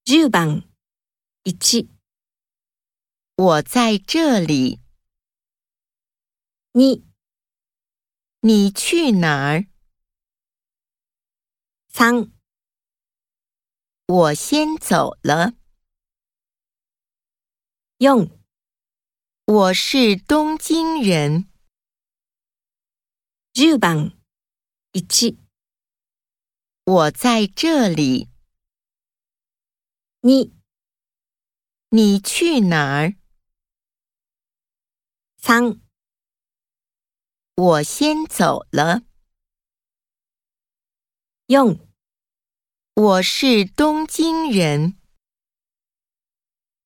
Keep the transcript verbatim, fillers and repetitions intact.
じゅうばんいち、 我在这里。 に、 你去哪儿？ さん、 我先走了。 よん、 我是东京人。 じゅうばんいち、 我在这里。 に、 你去哪儿？ さん、 我先走了。 よん、 我是东京人。